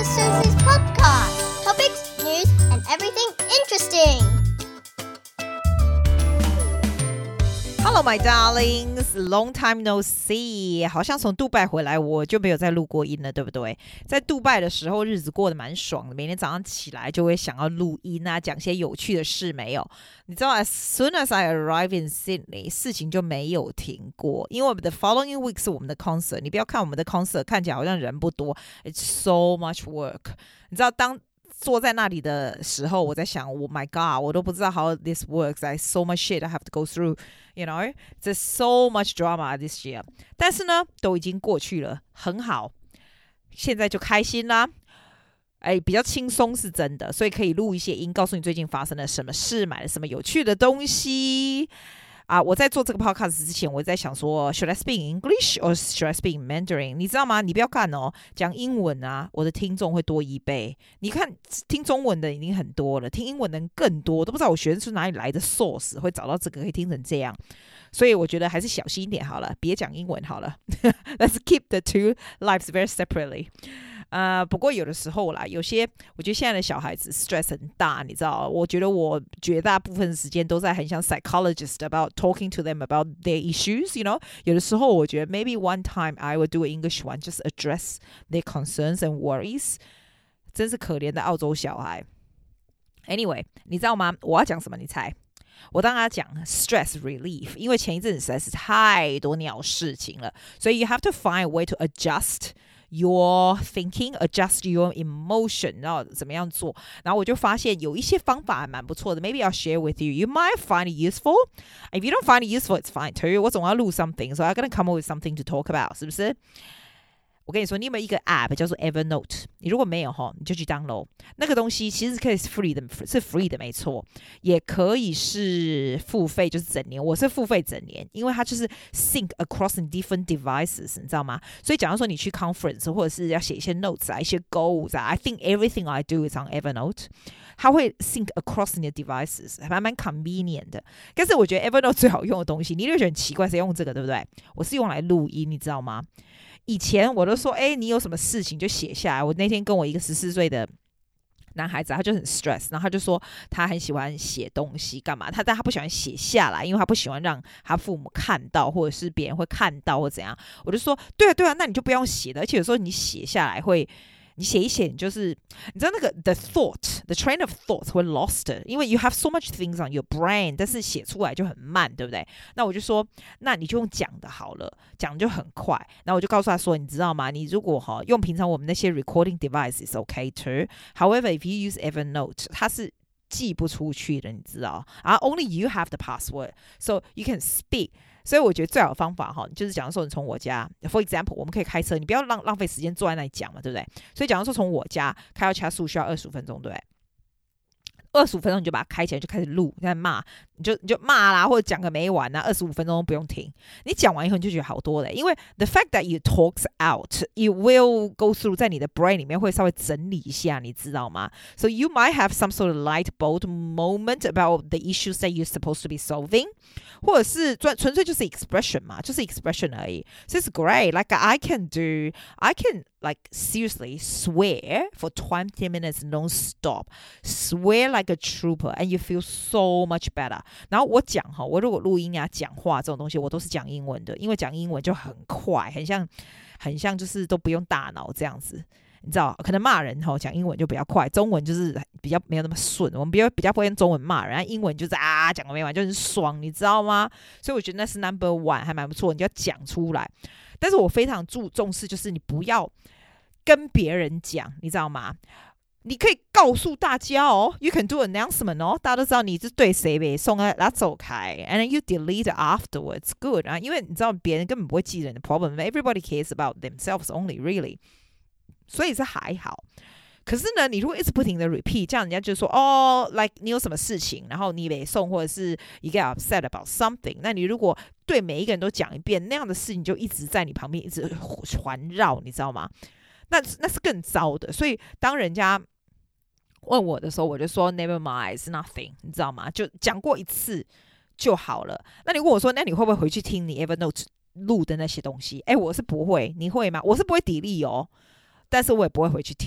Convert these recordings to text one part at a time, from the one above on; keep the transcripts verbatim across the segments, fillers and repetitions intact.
Sister Susie's podcast. Topics, news, and everything interesting. Hello, my darlings. Long time no see. 好像從杜拜回來，我就沒有再錄過音了，對不對？在杜拜的時候，日子過得蠻爽的。每天早上起來就會想要錄音啊，講些有趣的事。沒有，你知道 ，as soon as I arrive in Sydney， 事情就沒有停過。因為 the following week 是我們的 concert。你不要看我們的 concert 看起來好像人不多 ，it's so much work。你知道當坐在那裡的時候，我在想 ，Oh my God， 我都不知道 how this works. I so much shit I have to go through. You know, there's so much drama this year. 但是呢，都已經過去了，很好。現在就開心啦，哎，比較輕鬆是真的，所以可以錄一些音，告訴你最近發生了什麼事，買了什麼有趣的東西。啊，我在做這個 podcast 之前，我在想說 ，Should I speak English or should I speak Mandarin？ 你知道嗎？你不要看哦，講英文啊，我的聽眾會多一倍。你看，聽中文的已經很多了，聽英文的人更多，我都不知道我學生是哪裡來的 source， 會找到這個可以聽成這樣。所以我覺得還是小心一點好了，別講英文好了。Let's keep the two lives very separately。呃，不過有的時候啦，有些我覺得現在的小孩子 stress 很大，你知道？我覺得我絕大部分時間都在很像 psychologist about talking to them about their issues, you know？ 有的時候我覺得 maybe one time I will do an English one, just address their concerns and worries。真是可憐的澳洲小孩。Anyway， 你知道嗎？我要講什麼？你猜？我當然要講 stress relief， 因為前一陣子實在是太多鳥事情了，所以 you have to find a way to adjust your thinking, adjust your emotion， 然後怎麼樣做？然後我就發現有一些方法還蠻不錯的 ，maybe I'll share with you. You might find it useful. If you don't find it useful, it's fine too. 我總要錄 something, so I'm gonna come up with something to talk about， 是不是？我跟你說，你有沒有一個 app 叫做 Evernote？ 你如果沒有齁，你就去 download 那個東西，其實可以是 free 的，是 free 的沒錯，也可以是付費，就是整年。我是付費整年，因為它就是 sync across in different devices， 你知道嗎？所以假如說你去 conference 或者是要寫一些 notes 啊，一些 goals 啊 ，I think everything I do is on Evernote。它會 sync across in the devices， 還蠻 convenient 的。但是我覺得 Evernote 最好用的東西，你就覺得很奇怪，誰用這個，對不對？我是用來錄音，你知道嗎？以前我都說，哎，你有什麼事情就寫下來。我那天跟我一個十四歲的男孩子，他就很 stress， 然後他就說他很喜歡寫東西，幹嘛？他但他不喜歡寫下來，因為他不喜歡讓他父母看到，或者是別人會看到或怎樣。我就說，對啊，對啊，那你就不用寫的，而且有時候你寫下來會。你寫一寫，你就是你知道那個 the thought, the train of thought 會 lost， 因為 you have so much things on your brain， 但是寫出來就很慢，對不對？那我就說，那你就用講的好了，講就很快。然後我就告訴他說，你知道嗎？你如果哈用平常我們那些 recording device is okay too. However, if you use Evernote， 它是寄不出去的，你知道啊 ？Only you have the password, so you can speak。所以我覺得最好的方法哈，就是假如說你從我家 ，for example， 我們可以開車，你不要浪浪費時間坐在那裡講嘛，對不對？所以假如說從我家開到其他樹需要二十五分鐘，對不對？二十五分鐘你就把它開起來，就開始錄，在罵，你就你就罵啦，或者講個沒完啊，二十五分鐘都不用停。你講完以後你就覺得好多了，因為 the fact that you talks out, it will go through 在你的 brain 裡面會稍微整理一下，你知道嗎 ？So you might have some sort of light bulb moment about the issues that you're supposed to be solving， 或者是純純粹就是 expression 嘛，就是 expression 而已。So it's great, like I can do, I can like seriously swear for twenty minutes non-stop, swear like a trooper, and you feel so much better. 然後我講哈，我如果錄音啊、講話這種東西，我都是講英文的，因為講英文就很快，很像很像就是都不用大腦這樣子，你知道？可能罵人哈，講英文就比較快，中文就是比較沒有那麼順。我們比較比較不會用中文罵人，英文就是啊講個沒完，就很爽，你知道嗎？所以我覺得那是 number one， 還蠻不錯，你就要講出來。但是我非常注重視，就是你不要跟別人講，你知道嗎？你可以告訴大家哦 ，you can do announcement 哦，大家都知道你是對誰唄，送啊，然後走開 ，and then you delete afterwards, good 啊，因為你知道別人根本不會記人的 problem，everybody cares about themselves only, really， 所以是還好。可是呢，你如果一直不停的 repeat， 這樣人家就說哦 ，like 你有什麼事情，然後你沒送，或者是 you get upset about something， 那你如果對每一個人都講一遍，那樣的事情就一直在你旁邊一直環繞，你知道嗎？那那是更糟的。所以當人家問我的時候，我就說 never mind, it's nothing， 你知道嗎？就講過一次就好了。那你問我說，那你會不會回去聽你 Evernote 錄的那些東西？哎，我是不會，你會嗎？我是不會delete哦，但是我也不會回去聽。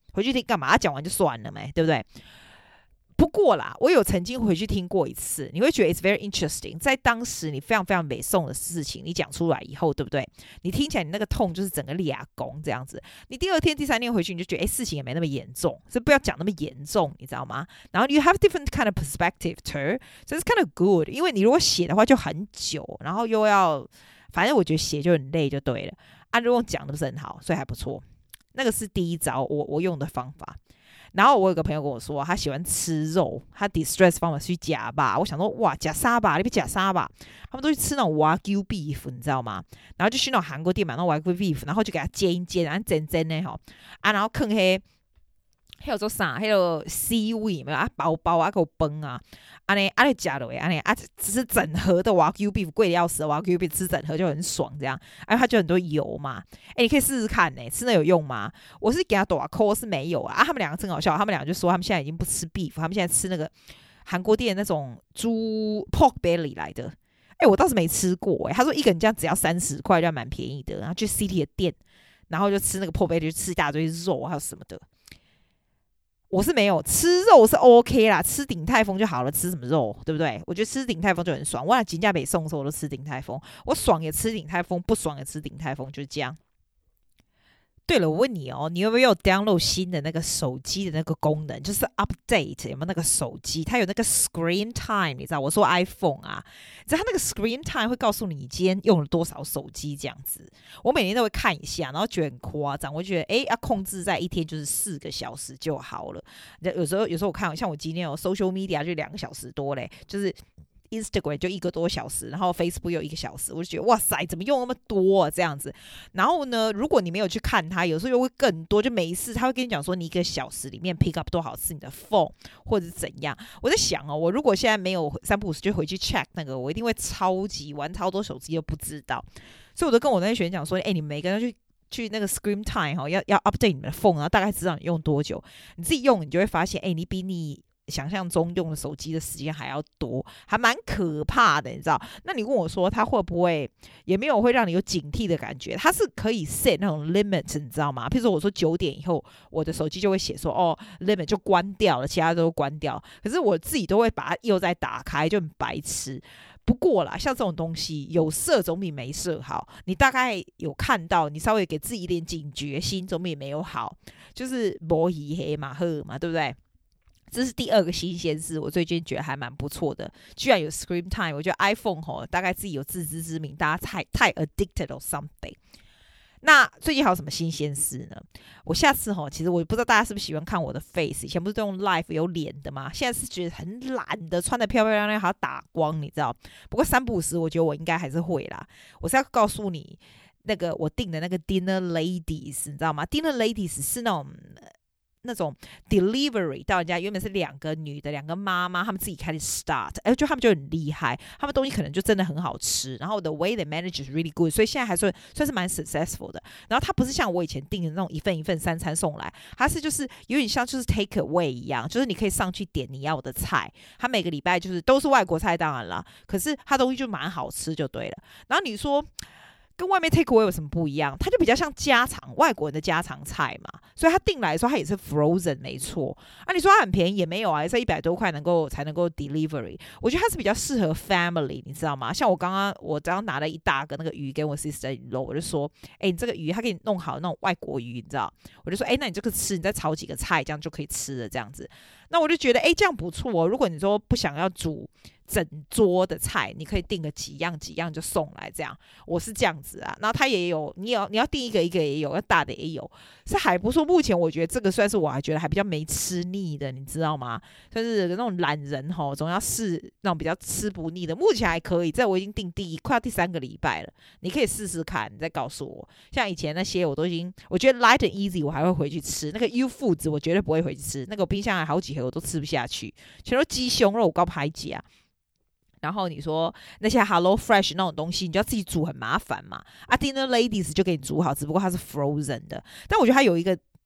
回去聽幹嘛？講完就算了沒，對不對？不過啦，我有曾經回去聽過一次，你會覺得 it's very interesting。在當時你非常非常美頌的事情，你講出來以後，對不對？你聽起來你那個痛就是整個倆公這樣子。你第二天、第三天回去，你就覺得哎，事情也沒那麼嚴重，所以不要講那麼嚴重，你知道嗎？然後 you have different kind of perspective too， so it's kind of good。因為你如果寫的話就很久，然後又要，反正我覺得寫就很累，就對了。啊，如果講的不是很好，所以還不錯。那個是第一招，我我用的方法。然後我有個朋友跟我說，他喜歡吃肉，他 distress 方法去夾吧。我想說，哇，夾沙吧，你別夾沙吧。他們都去吃那種 Wagyu beef，你知道嗎？然後就去那種韓國店買那種 Wagyu beef，然後就給他煎一煎，然後煎煎的吼啊，然後放黑，還有做啥？還有 seaweed 沒有啊？包包啊，給我崩啊！啊呢啊，你夾了啊呢啊，只是整盒的 Wagyu beef 貴的要死 ，Wagyu beef 吃整盒就很爽，這樣，哎、啊，它就很多油嘛，哎，你可以試試看呢、欸，吃那有用嗎？我是給他多扣是沒有啊，啊他們兩個真好笑，他們兩個就說他們現在已經不吃 beef，他們現在吃那個韓國店那種豬 pork belly 來的，哎，我倒是沒吃過哎、欸，他說一個人這樣只要三十塊，就還蠻便宜的，然後去 City 的店，然後就吃那個 pork belly，就吃一大堆肉還有什麼的。我是沒有吃肉是 OK 啦，吃鼎泰豐就好了，吃什麼肉對不對？我覺得吃鼎泰豐就很爽。我倆金價北送的時候我都吃鼎泰豐，我爽也吃鼎泰豐，不爽也吃鼎泰豐，就是這樣。對了，我問你哦，你有沒有 download 新的那個手機的那個功能，就是 update 有沒有那個手機？它有那個 screen time， 你知道？我說 iPhone 啊，你知道它那個 screen time 會告訴你你今天用了多少手機這樣子。我每天都會看一下，然後覺得很誇張。我覺得哎，要控制在一天就是四個小時就好了。有時候有時候我看，像我今天有 social media 就兩個小時多嘞，就是。Instagram 就一個多小時，然後 Facebook 有一個小時，我就覺得哇塞，怎麼用那麼多啊這樣子？然後呢，如果你沒有去看它，有時候又會更多。就每一次他會跟你講說，你一個小時裡面 pick up 多少次你的 phone 或者是怎樣。我在想哦，我如果現在沒有三不五時就回去 check 那個，我一定會超級玩超多手機又不知道。所以我就跟我那些學員講說，哎，你們每個人去去那個 screen time 哈，要要 update 你們的 phone，然後大概知道你用多久。你自己用，你就會發現，哎，你比你想象中用的手機的時間還要多，還蠻可怕的，你知道？那你問我說，它會不會也沒有會讓你有警惕的感覺？它是可以 set 那種 limit， 你知道嗎？譬如說，我說九點以後，我的手機就會寫說，哦 ，limit 就關掉了，其他都關掉。可是我自己都會把它又再打開，就很白痴。不過啦，像這種東西有設總比沒設好。你大概有看到，你稍微給自己一點警覺心，總比沒有好。就是摸魚黑馬赫嘛，對不對？這是第二個新鮮事，我最近覺得還蠻不錯的，居然有 screen time。我覺得 iPhone 吼，大概自己有自知之明，大家太太 addicted or something。那最近還有什麼新鮮事呢？我下次吼，其實我不知道大家是不是喜歡看我的 face，以前不是都用 live 有臉的嗎？現在是覺得很懶的，穿得漂漂亮亮還要打光，你知道？不過三不五時，我覺得我應該還是會啦。我是要告訴你，那個我訂的那個 dinner ladies， 你知道嗎？ dinner ladies 是那種。那種 delivery 到人家，原本是兩個女的，兩個媽媽，他們自己開始 start， 哎，就他們就很厲害，他們東西可能就真的很好吃，然後 the way they manage is really good， 所以現在還算算是蠻 successful 的。然後它不是像我以前訂的那種一份一份三餐送來，它是就是有點像就是 take away 一樣，就是你可以上去點你要的菜，它每個禮拜就是都是外國菜，當然啦，可是它東西就蠻好吃就對了。然後你說。跟外面 take away 有什麼不一樣？它就比較像家常外國人的家常菜嘛，所以他訂來的時候，它也是 frozen 沒錯啊。你說它很便宜也沒有啊，也是一百多塊能夠才能夠 delivery。我覺得它是比較適合 family， 你知道嗎？像我剛剛我剛剛拿了一大個那個魚給我 sister 肉，我就說，哎、欸，你這個魚他給你弄好那種外國魚，你知道？我就說，哎、欸，那你這個吃，你再炒幾個菜，這樣就可以吃了，這樣子。那我就覺得，哎、欸，這樣不錯哦。如果你說不想要煮整桌的菜，你可以訂個幾樣幾樣就送來，這樣我是這樣子啊。然後他也有，你要你要訂一個一個也有，要大的也有，是還不錯。目前我覺得這個算是我還覺得還比較沒吃膩的，你知道嗎？就是那種懶人吼，總要試那種比較吃不膩的。目前還可以，這我已經訂第一快要第三個禮拜了，你可以試試看，你再告訴我。像以前那些我都已經，我覺得 light and easy 我還會回去吃，那個 U Foods 我絕對不會回去吃，那個冰箱還好幾盒我都吃不下去，全都雞胸肉高排擠啊。然後你說那些 Hello Fresh 那種東西，你就要自己煮，很麻煩嘛。啊 Dinner Ladies 就給你煮好，只不過它是 frozen 的。但我覺得它有一個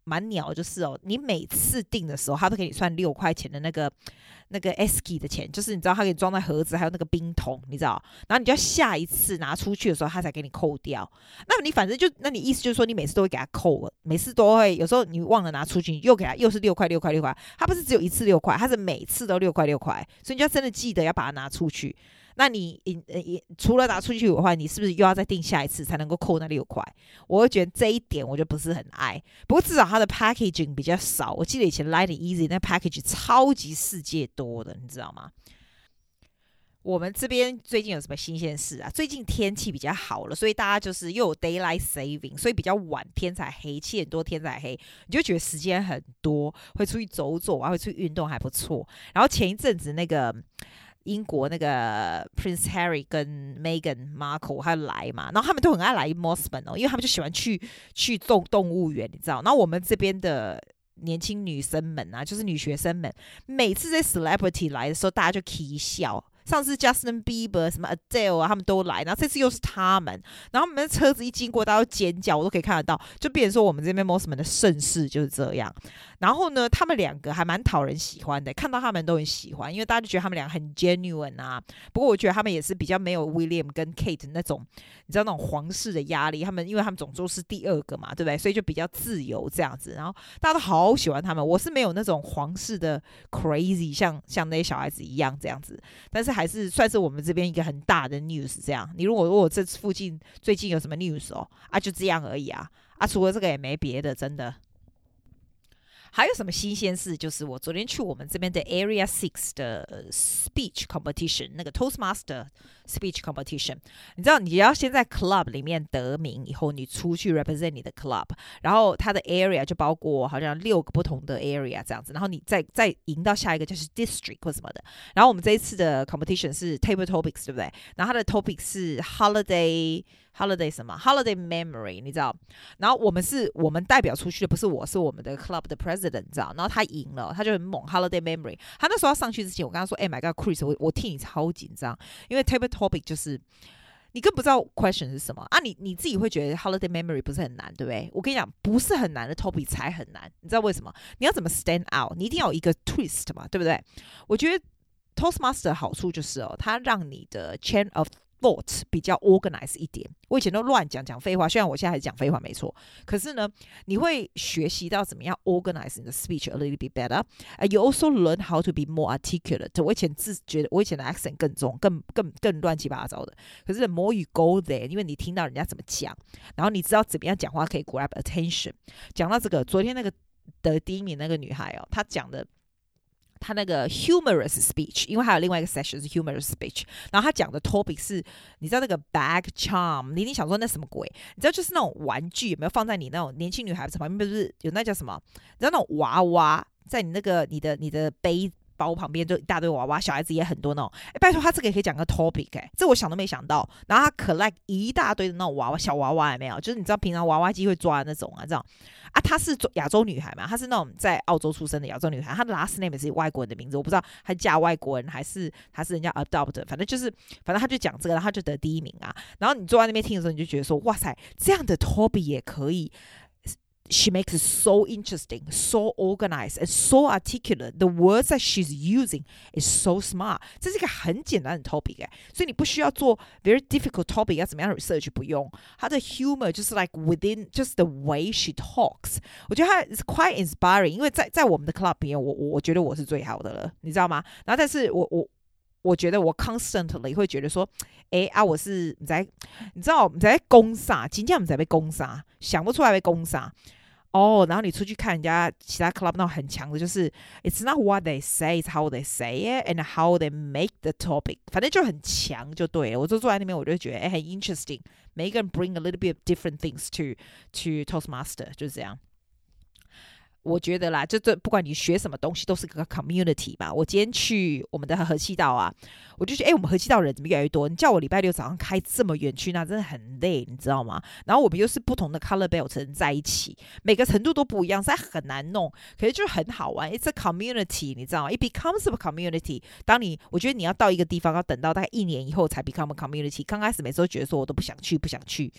蠻鳥，就是哦，你每次訂的時候，他都給你算六塊錢的那個那個 esky 的錢，就是你知道他給你裝在盒子，還有那個冰桶，你知道，然後你就要下一次拿出去的時候，他才給你扣掉。那麼你反正就，那你意思就是說，你每次都會給他扣了，每次都會，有時候你忘了拿出去，你又給他又是六塊六塊六塊，他不是只有一次六塊，他是每次都六塊六塊，所以你就要真的記得要把它拿出去。那你除了拿出去的話，你是不是又要再訂下一次才能夠扣那六塊？我會覺得這一點我就不是很愛。不過至少它的 packaging 比較少。我記得以前 Light and Easy 那 package 超級世界多的，你知道嗎？我們這邊最近有什麼新鮮事啊？最近天氣比較好了，所以大家就是又有 daylight saving， 所以比較晚天才黑，七點多天才黑，你就覺得時間很多，會出去走走啊，會出去運動還不錯。然後前一陣子那個英國那個 Prince Harry 跟 Meghan Markle 他來嘛，然後他們都很愛來 Mosman 哦，因為他們就喜歡去去動動物園，你知道。然後我們這邊的年輕女生們啊，就是女學生們，每次這 celebrity 來的時候，大家就起笑。上次 Justin Bieber 什麼 Adele 啊，他們都來，然後這次又是他們，然後我們的車子一經過，大家都尖叫，我都可以看得到，就變成說我們這邊 Mosman 的盛世就是這樣。然後呢，他們兩個還蠻討人喜歡的，看到他們都很喜歡，因為大家就覺得他們兩個很 genuine 啊。不過我覺得他們也是比較沒有 William 跟 Kate 那種，你知道那種皇室的壓力，他們因為他們總共是第二個嘛，對不對？所以就比較自由這樣子，然後大家都好喜歡他們。我是沒有那種皇室的 crazy，像像那些小孩子一樣這樣子，但是還是算是我們這邊一個很大的 news 這樣。你如果如果這附近最近有什麼 news 哦，啊就這樣而已啊，啊除了這個也沒別的，真的。還有什麼新鮮事？就是我昨天去我們這邊的 Area Six 的 speech competition， 那個 Toastmaster speech competition。你知道，你要先在 club 裡面得名，以後你出去 represent 你的 club， 然後它的 area 就包括好像六個不同的 area 這樣子，然後你再再贏到下一個就是 district 或什麼的。然後我們這一次的 competition 是 table topics， 對不對？然後它的 topic 是 holiday。Holiday 什麼 ？Holiday memory， 你知道？然後我們是我們代表出去的，不是我，是我們的 club 的 president， 你知道？然後他贏了，他就很猛。Holiday memory， 他那時候要上去之前，我跟他說：“哎、欸、，My God，Chris， 我我替你超緊張，因為 table topic 就是你更不知道 question 是什麼啊你！你你自己會覺得 holiday memory 不是很難，對不對？我跟你講，不是很難的 topic 才很難，你知道為什麼？你要怎麼 stand out？ 你一定要有一個 twist 嘛，對不對？我覺得 Toastmaster 的好處就是哦，它讓你的 chain of thought 比較 organized 一點。我以前都亂講講廢話，雖然我現在還是講廢話沒錯，可是呢，你會學習到怎麼樣 organize 你的 speech a little bit better. And you also learn how to be more articulate. 我以前自覺得我以前的 accent 更重，更更更亂七八糟的。可是 the more you go there， 因為你聽到人家怎麼講，然後你知道怎麼樣講話可以 grab attention。講到這個，昨天那個得第一名那個女孩哦，她講的。他那個 humorous speech， 因為還有另外一個 session 是 humorous speech， 然後他講的 topic 是，你知道那個 bag charm， 你一定想說那什麼鬼？你知道就是那種玩具有沒有放在你那種年輕女孩子旁邊，不是有那叫什麼？你知道那種娃娃在你那個你的你的背包旁邊就一大堆娃娃，小孩子也很多那種。哎，拜託他這個也可以講個 topic， 哎，這我想都沒想到。然後他 collect 一大堆的那種娃娃，小娃娃有沒有？就是你知道平常娃娃機會抓的那種啊，這樣。啊，她是亞洲女孩嘛，她是那種在澳洲出生的亞洲女孩，她的 last name 也是外國人的名字，我不知道她嫁外國人還是她是人家 adopt， 反正就是反正她就講這個，然後她就得第一名啊。然後你坐在那邊聽的時候，你就覺得說，哇塞，這樣的 topic 也可以。She makes it so interesting, so organized, and so articulate. The words that she's using is so smart. 這是一個很簡單的 topic， 所以你不需要做 very difficult topic， 要怎麼樣 research 不用。她的 humor 就是 like within just the way she talks。我覺得她 is quite inspiring， 因為在在我們的 club 裡面，我我覺得我是最好的了，你知道嗎？然後但是我我。我覺得我 constantly 會覺得說，哎啊，我是你在，你知道你在攻殺，今天我們在被攻殺，想不出來被攻殺哦。然後你出去看人家其他 club 那種很強的，就是 it's not what they say, it's how they say it and how they make the topic， 反正就很強就對了。我就坐在那邊，我就覺得哎很 interesting， 每一個人 bring a little bit of different things to to Toastmaster， 就是這樣。我覺得啦，就這不管你學什麼東西，都是個 community 吧。我今天去我們的和氣道啊，我就覺得，哎，我們和氣道人怎麼越來越多？你叫我禮拜六早上開這麼遠去，那真的很累，你知道嗎？然後我們又是不同的 color belt 人在一起，每個程度都不一樣，實在很難弄。可是就很好玩 ，it's a community， 你知道嗎 ？It becomes a community。當你，我覺得你要到一個地方，要等到大概一年以後才 become a community。剛開始每次都覺得說我都不想去，不想去。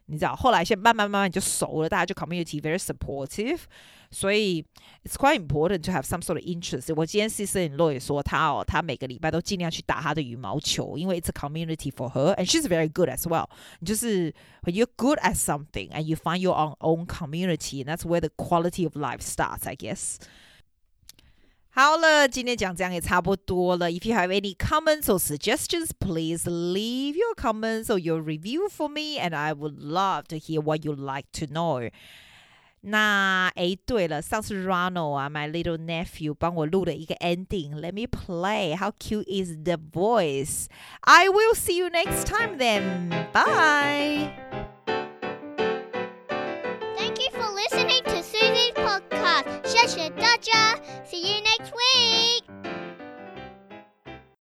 你知道，後來現在慢慢慢慢就熟了，大家就 community very supportive， 所以 it's quite important to have some sort of interest。我今天 sister-in-law 也說他哦，他每個禮拜都盡量去打他的羽毛球，因為 it's a community for her and she's very good as well。你就是 when you're good at something and you find your own own community, and that's where the quality of life starts, I guess。好了，今天講這樣也差不多了。If you have any comments or suggestions, please leave your comments or your review for me, and I would love to hear what you'd like to know. 那誒，對了，上次 Ronald 啊 ，my little nephew 幫我錄了一個 ending. Let me play. How cute is the voice? I will see you next time then. Bye. Thank you for listening to Susie's podcast. 謝謝大家. See you next